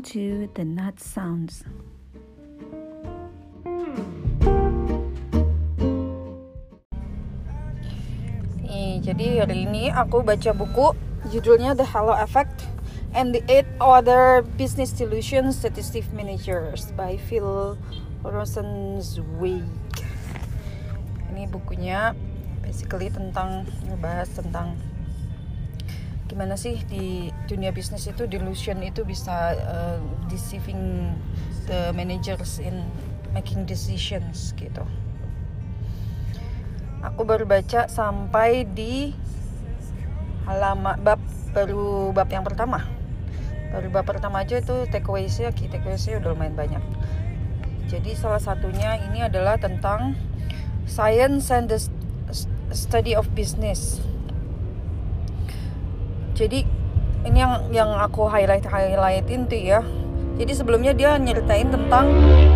to the Nut Sounds. Jadi hari ini aku baca buku judulnya The Halo Effect and the 8 Other Business Solutions Statistic Managers by Phil Rosenzweig. Ini bukunya basically ngebahas tentang gimana sih di dunia bisnis itu delusion itu bisa deceiving the managers in making decisions gitu. Aku baru baca sampai di bab yang pertama. Baru bab pertama aja itu takeaways-nya udah lumayan banyak. Jadi salah satunya ini adalah tentang science and the study of business. Jadi ini yang aku highlightin tuh ya. Jadi sebelumnya dia nyeritain tentang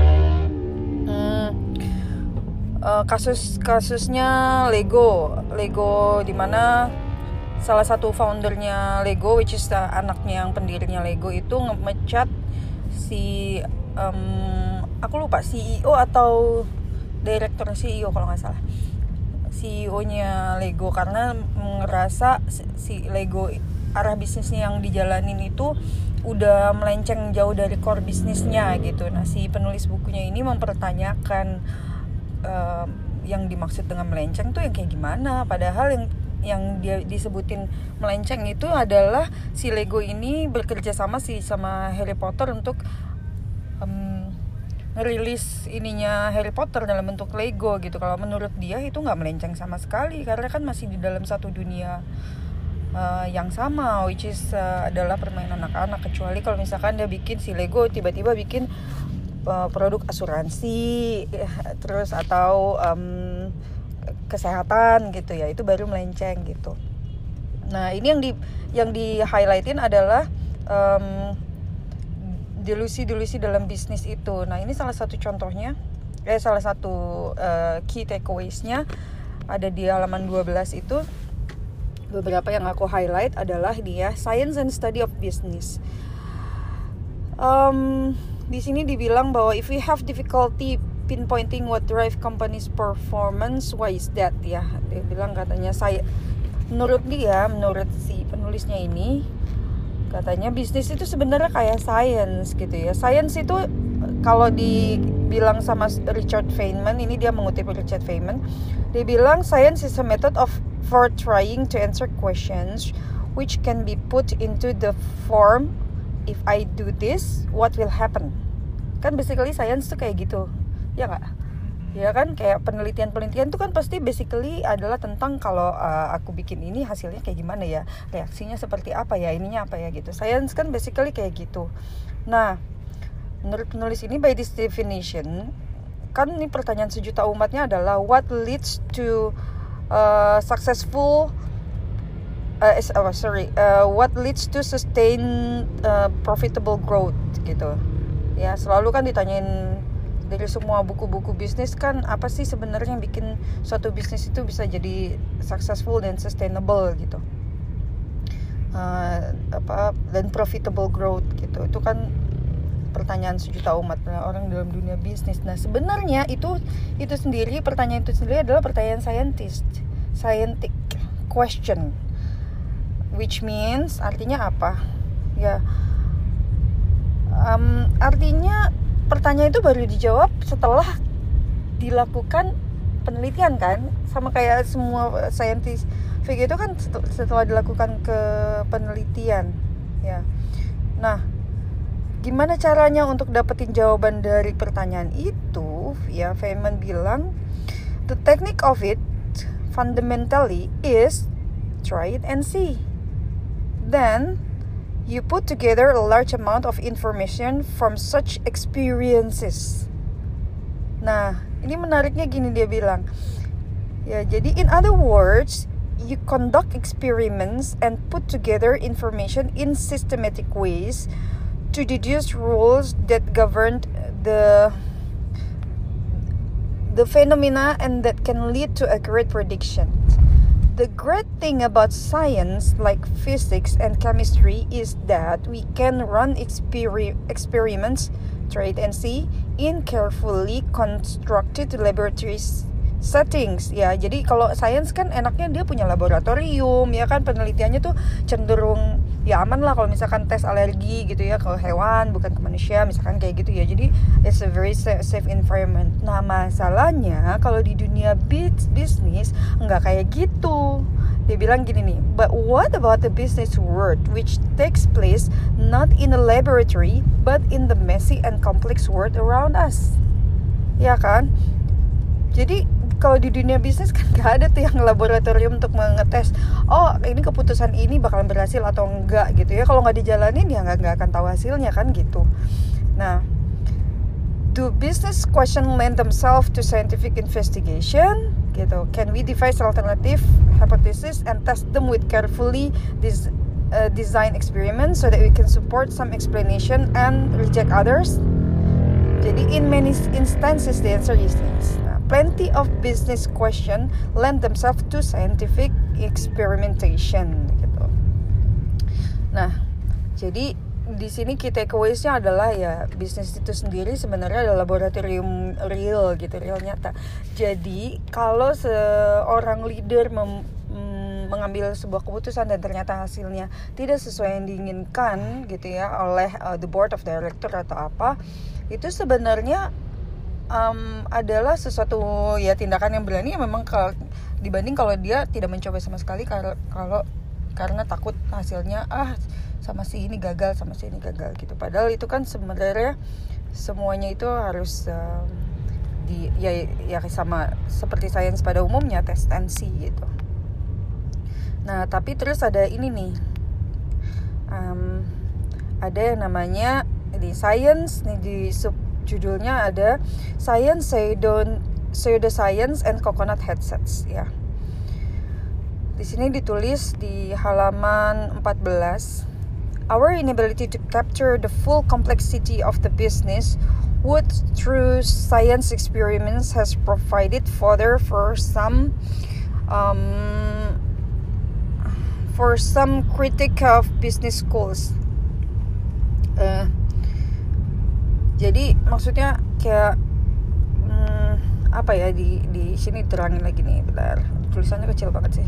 kasusnya Lego di mana salah satu foundernya Lego, which is anaknya yang pendirinya Lego itu ngemecat si aku lupa CEO atau direktur CEO kalau nggak salah, CEO-nya Lego, karena ngerasa si Lego arah bisnisnya yang dijalanin itu udah melenceng jauh dari core bisnisnya gitu. Nah si penulis bukunya ini mempertanyakan yang dimaksud dengan melenceng tuh yang kayak gimana, padahal yang dia disebutin melenceng itu adalah si Lego ini bekerja sama Harry Potter untuk ngerilis ininya Harry Potter dalam bentuk Lego gitu. Kalau menurut dia itu nggak melenceng sama sekali karena kan masih di dalam satu dunia yang sama, which is adalah permainan anak-anak. Kecuali kalau misalkan dia bikin si Lego tiba-tiba bikin produk asuransi terus atau kesehatan gitu ya, itu baru melenceng gitu. Nah ini yang di highlightin adalah delusi dalam bisnis itu. Nah ini salah satu contohnya, salah satu key takeaways-nya ada di halaman 12 itu. Beberapa yang aku highlight adalah dia science and study of business. Di sini dibilang bahwa if we have difficulty pinpointing what drive company's performance, why is that ya? Dia bilang katanya menurut si penulisnya ini, katanya bisnis itu sebenarnya kayak science gitu ya. Science itu kalau dibilang sama Richard Feynman, ini dia mengutip Richard Feynman, dia bilang science is a method for trying to answer questions which can be put into the form, if I do this, what will happen? Kan basically science tuh kayak gitu, ya nggak? Ya kan, kayak penelitian tuh kan pasti basically adalah tentang kalau aku bikin ini hasilnya kayak gimana ya, reaksinya seperti apa ya, ininya apa ya gitu. Science kan basically kayak gitu. Nah, menurut penulis ini by this definition, kan ini pertanyaan sejuta umatnya adalah what leads to what leads to sustain profitable growth gitu ya. Selalu kan ditanyain dari semua buku-buku bisnis kan, apa sih sebenarnya yang bikin suatu bisnis itu bisa jadi successful dan sustainable gitu, dan profitable growth gitu. Itu kan pertanyaan sejuta umat orang dalam dunia bisnis. Nah sebenarnya itu sendiri, pertanyaan itu sendiri adalah pertanyaan scientific question, which means artinya apa ya? Artinya pertanyaan itu baru dijawab setelah dilakukan penelitian kan, sama kayak semua scientific itu kan setelah dilakukan ke penelitian ya. Nah gimana caranya untuk dapetin jawaban dari pertanyaan itu ya? Feynman bilang the technique of it fundamentally is try it and see, then you put together a large amount of information from such experiences. Nah, ini menariknya gini dia bilang. Ya, jadi in other words, you conduct experiments and put together information in systematic ways to deduce rules that govern the phenomena and that can lead to accurate predictions. The great thing about science like physics and chemistry is that we can run experiments, try and see, in carefully constructed laboratory settings. Ya, jadi kalau science kan enaknya dia punya laboratorium, ya kan, penelitiannya tuh cenderung ya aman lah kalau misalkan tes alergi gitu ya, ke hewan bukan ke manusia misalkan kayak gitu ya. Jadi it's a very safe environment. Nah, masalahnya kalau di dunia bisnis nggak kayak gitu. Dia bilang gini nih, but what about the business world which takes place not in a laboratory but in the messy and complex world around us? Ya kan? Jadi kalau di dunia bisnis kan gak ada tuh yang laboratorium untuk mengetes, oh ini keputusan ini bakalan berhasil atau enggak gitu ya. Kalau nggak dijalanin ya nggak akan tahu hasilnya kan gitu. Nah, do business question lend themselves to scientific investigation? Gitu. Can we devise alternative hypothesis and test them with carefully design experiments so that we can support some explanation and reject others? Jadi in many instances the answer is yes. Plenty of business question lend themselves to scientific experimentation gitu. Nah, jadi di sini key takeaways-nya adalah ya bisnis itu sendiri sebenarnya adalah laboratorium real gitu, real nyata. Jadi kalau seorang leader mengambil sebuah keputusan dan ternyata hasilnya tidak sesuai yang diinginkan gitu ya oleh the board of director atau apa, itu sebenarnya adalah sesuatu ya tindakan yang berani ya memang dibanding kalau dia tidak mencoba sama sekali karena takut hasilnya sama si ini gagal gitu. Padahal itu kan sebenarnya semuanya itu harus ya sama seperti sains pada umumnya, tes and see gitu. Nah, tapi terus ada ini nih, ada yang namanya di science nih, di judulnya ada Science, Pseudoscience and Coconut Headsets ya. Di sini ditulis di halaman 14, our inability to capture the full complexity of the business would through science experiments has provided fodder for some critic of business schools. Jadi maksudnya kayak apa ya, di sini terangin lagi nih, bentar, tulisannya kecil banget sih.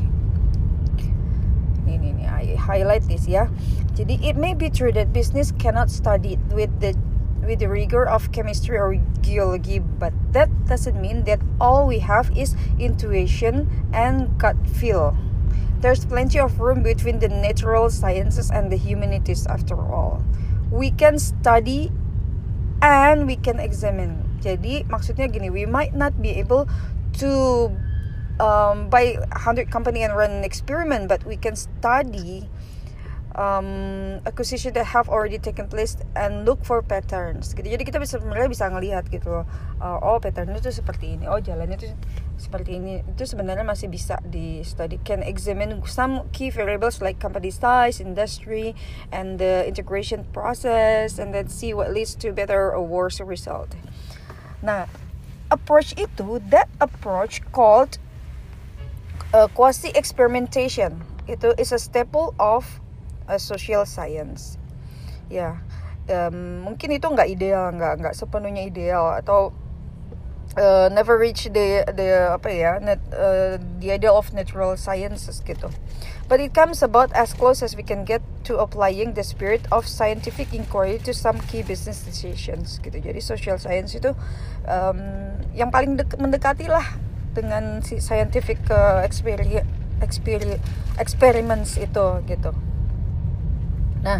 Ini I highlight this ya. Jadi it may be true that business cannot study with the rigor of chemistry or geology, but that doesn't mean that all we have is intuition and gut feel. There's plenty of room between the natural sciences and the humanities after all. We can study and we can examine. Jadi maksudnya gini, we might not be able to buy 100 company and run an experiment, but we can study acquisition that have already taken place and look for patterns gitu. Jadi kita sebenarnya bisa ngelihat gitu loh, oh patternnya tuh seperti ini, oh jalannya tuh seperti ini. Itu sebenarnya masih bisa di study. Can examine some key variables like company size, industry, and the integration process, and then see what leads to better or worse result. Nah, approach called quasi experimentation, itu is a staple of social science. Ya, mungkin itu nggak ideal, nggak sepenuhnya ideal, atau never reach the idea of natural sciences gitu. But it comes about as close as we can get to applying the spirit of scientific inquiry to some key business decisions gitu. Jadi social science itu yang paling mendekati lah dengan si scientific experiments itu gitu. Nah,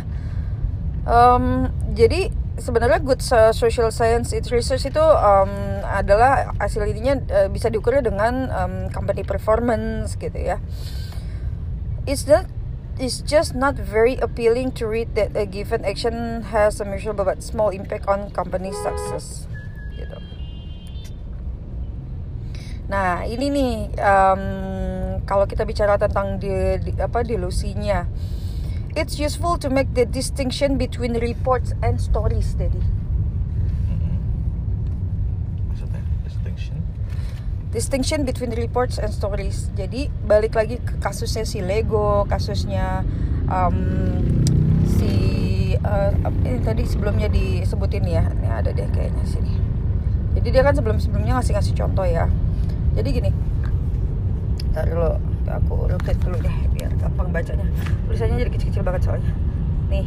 jadi sebenarnya good social science research itu adalah hasil ininya bisa diukur dengan company performance gitu ya. It's just not very appealing to read that a given action has a measurable but small impact on company success gitu. Nah, ini nih kalau kita bicara tentang delusinya, it's useful to make the distinction between reports and stories, Daddy. Maksudnya distinction? distinction between reports and stories. Jadi balik lagi ke kasusnya si Lego, kasusnya ini tadi sebelumnya disebutin ya, ini ada deh kayaknya sini. Jadi dia kan sebelumnya ngasih contoh ya. Jadi gini, ntar dulu aku rotate dulu deh biar gampang bacanya. Tulisannya jadi kecil-kecil banget soalnya. Nih.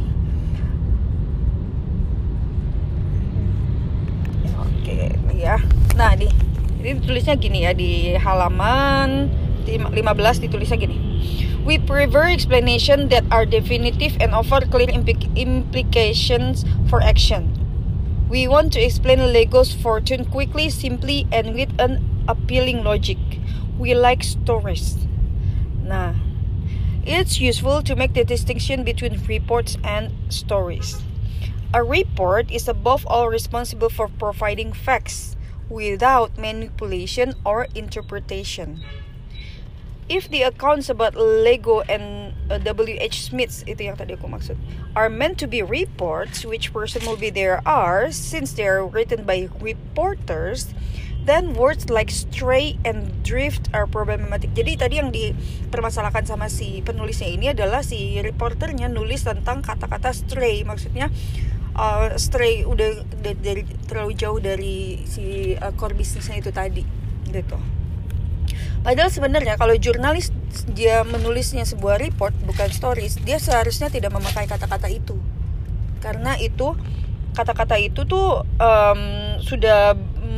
Oke, ya. Nah, jadi tulisnya gini ya di halaman 15 ditulisnya gini. We prefer explanation that are definitive and offer clear implications for action. We want to explain Lego's fortune quickly, simply, and with an appealing logic. We like stories. Nah, it's useful to make the distinction between reports and stories. A report is above all responsible for providing facts without manipulation or interpretation. If the accounts about Lego and W.H. Smith, itu yang tadi aku maksud, are meant to be reports, which presumably there are, since they are written by reporters, then words like stray and drift are problematic. Jadi tadi yang dipermasalahkan sama si penulisnya ini adalah si reporternya nulis tentang kata-kata stray, maksudnya stray udah dari terlalu jauh dari si core bisnisnya itu tadi, gitu. Padahal sebenarnya kalau jurnalis dia menulisnya sebuah report bukan stories, dia seharusnya tidak memakai kata-kata itu, karena itu kata-kata itu tuh sudah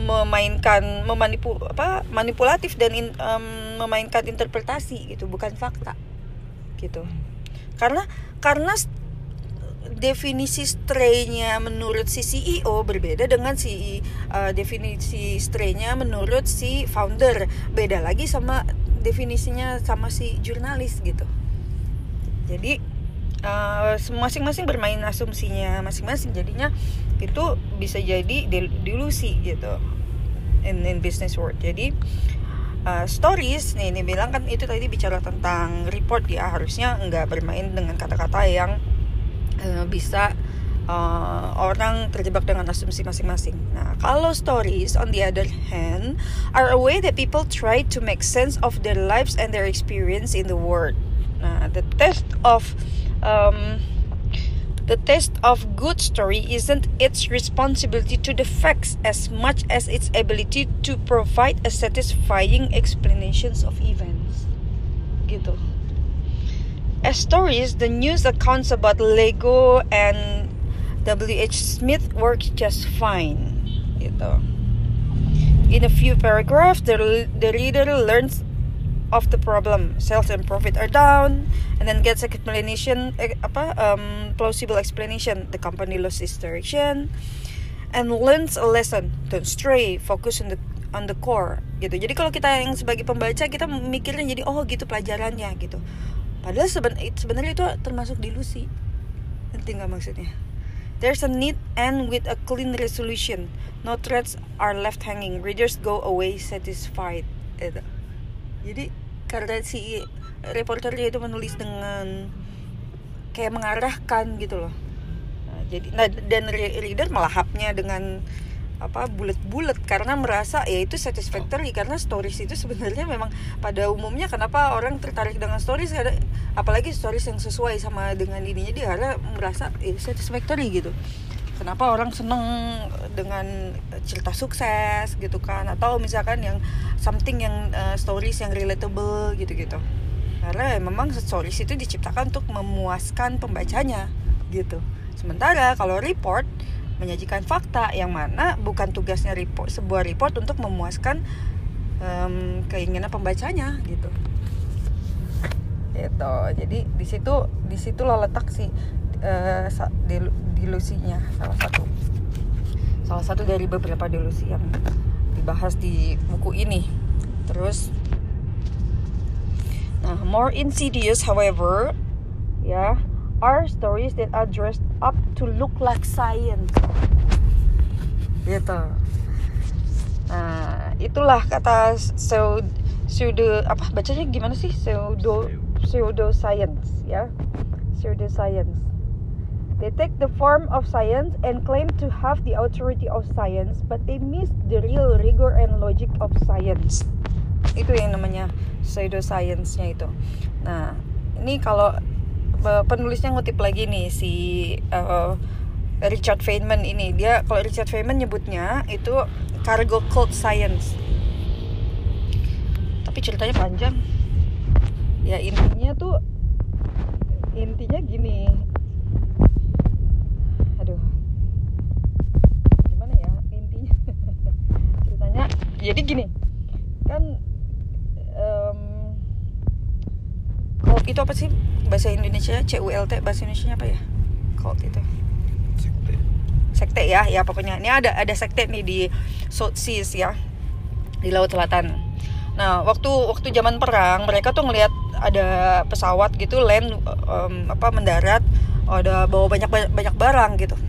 manipulatif dan memainkan interpretasi gitu, bukan fakta gitu. Karena definisi stray-nya menurut si CEO berbeda dengan definisi stray-nya menurut si founder, beda lagi sama definisinya sama si jurnalis gitu. Jadi masing-masing bermain asumsinya masing-masing, jadinya itu bisa jadi delusi gitu in business world. Jadi stories nih bilang kan itu tadi bicara tentang report ya, harusnya nggak bermain dengan kata-kata yang bisa orang terjebak dengan asumsi masing-masing. Nah, kalau stories on the other hand are a way that people try to make sense of their lives and their experience in the world. Nah, the test of good story isn't its responsibility to the facts as much as its ability to provide a satisfying explanations of events. Gitu. As stories, the news accounts about Lego and W.H. Smith work just fine. Gitu. In a few paragraphs, the reader learns of the problem. Sales and profit are down, and then gets explanation, plausible explanation. The company lost its direction, and learns a lesson. Don't stray. Focus on the core. Gitu. Jadi kalau kita yang sebagai pembaca, kita mikirnya jadi gitu pelajarannya gitu. Padahal sebenarnya itu termasuk delusi. Ngerti nggak maksudnya? There's a neat end with a clean resolution. No threads are left hanging. Readers go away satisfied. Itu. Jadi karena si reporternya itu menulis dengan kayak mengarahkan gitu loh. Dan reader melahapnya dengan bulet-bulet karena merasa ya itu satisfactory, karena stories itu sebenarnya memang pada umumnya kenapa orang tertarik dengan stories, apalagi stories yang sesuai sama dengan ininya, dia karena merasa satisfactory gitu. Kenapa orang seneng dengan cerita sukses gitu kan, atau misalkan yang something yang stories yang relatable gitu-gitu, karena memang stories itu diciptakan untuk memuaskan pembacanya gitu. Sementara kalau report menyajikan fakta yang mana bukan tugasnya sebuah report untuk memuaskan keinginan pembacanya gitu. Gitu. Jadi di situlah letak si delusinya, salah satu dari beberapa delusi yang dibahas di buku ini. Terus more insidious however are stories that are dressed up to look like science. Gitu. Nah, itulah kata pseudo bacanya gimana sih? Pseudo science ya. Pseudo science. They take the form of science and claim to have the authority of science, but they miss the real rigor and logic of science. itu yang namanya pseudoscience-nya itu. Nah, ini kalau penulisnya ngutip lagi nih si Richard Feynman ini. Dia, kalau Richard Feynman nyebutnya itu cargo cult science. Tapi ceritanya panjang. Ya intinya gini. Aduh, gimana ya intinya? Ceritanya jadi gini. Kan cult itu apa sih bahasa Indonesia? CULT bahasa Indonesia apa ya? Cult itu sekte ya pokoknya. Ini ada sekte nih di South Seas ya, di Laut Selatan. Nah, waktu zaman perang mereka tuh ngelihat ada pesawat gitu land mendarat, ada bawa banyak barang gitu.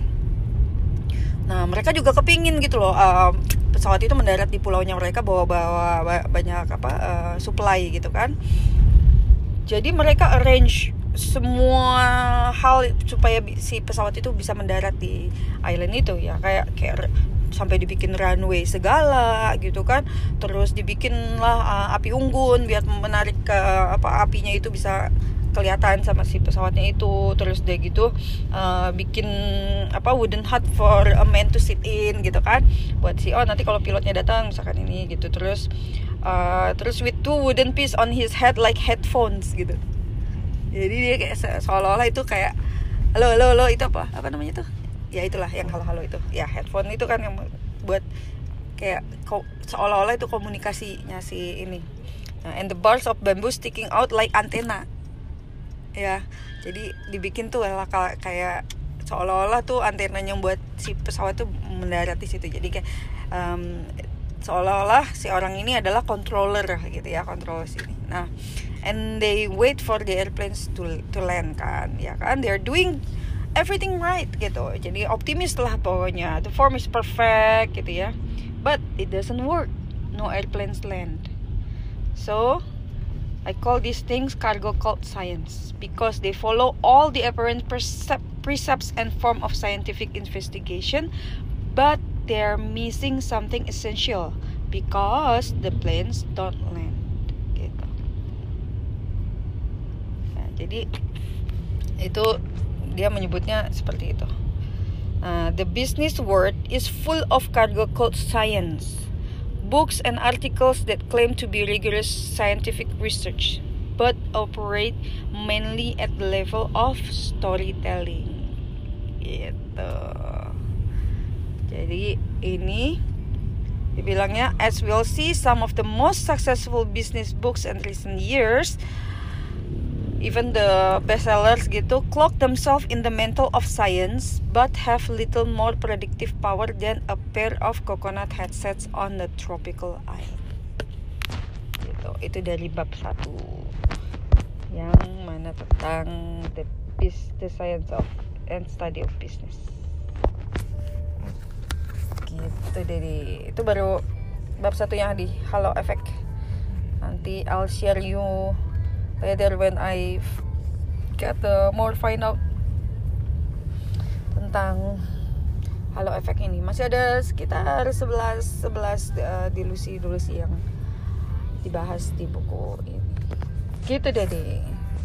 Nah, mereka juga kepingin gitu loh, pesawat itu mendarat di pulaunya mereka bawa banyak supply gitu kan. Jadi mereka arrange semua hal supaya si pesawat itu bisa mendarat di island itu ya, kayak sampai dibikin runway segala gitu kan. Terus dibikinlah api unggun biar menarik ke apinya itu bisa kelihatan sama si pesawatnya itu. Terus dia gitu bikin wooden hut for a man to sit in gitu kan, buat nanti kalau pilotnya datang misalkan ini gitu. Terus with 2 wooden piece on his head like headphones gitu. Jadi dia kayak seolah-olah itu kayak halo itu apa namanya tuh? Ya itulah yang halo itu. Ya headphone itu kan yang buat kayak seolah-olah itu komunikasinya si ini. Nah, and the bars of bamboo sticking out like antenna. Ya, jadi dibikin tuh kayak seolah-olah tuh antenanya buat si pesawat tuh mendarat di situ. Jadi kayak seolah-olah si orang ini adalah controller gitu ya, controller sini. Nah, and they wait for the airplanes to land kan, ya kan, they're doing everything right gitu. Jadi optimis lah pokoknya, the form is perfect gitu ya, but it doesn't work, no airplanes land. So I call these things cargo cult science because they follow all the apparent precepts and form of scientific investigation, but they're missing something essential because the planes don't land gitu. Nah, jadi itu dia menyebutnya seperti itu. The business world is full of cargo cult science, books and articles that claim to be rigorous scientific research, but operate mainly at the level of storytelling gitu. Jadi ini dibilangnya, as we'll see, some of the most successful business books in recent years, even the bestsellers gitu, cloak themselves in the mantle of science but have little more predictive power than a pair of coconut headsets on the tropical island gitu. Itu dari bab 1 yang mana tentang the science of and study of business gitu. Jadi itu baru bab 1 yang di Halo Effect. Nanti I'll share you later when I get more find out tentang Halo Effect ini. Masih ada sekitar 11 dilusi yang dibahas di buku ini gitu deh.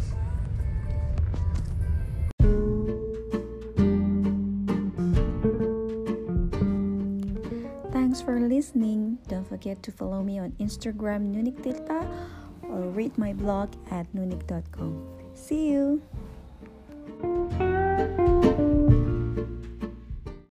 Thanks for listening. Don't forget to follow me on Instagram Nunik Tirta or read my blog at nunik.com. See you!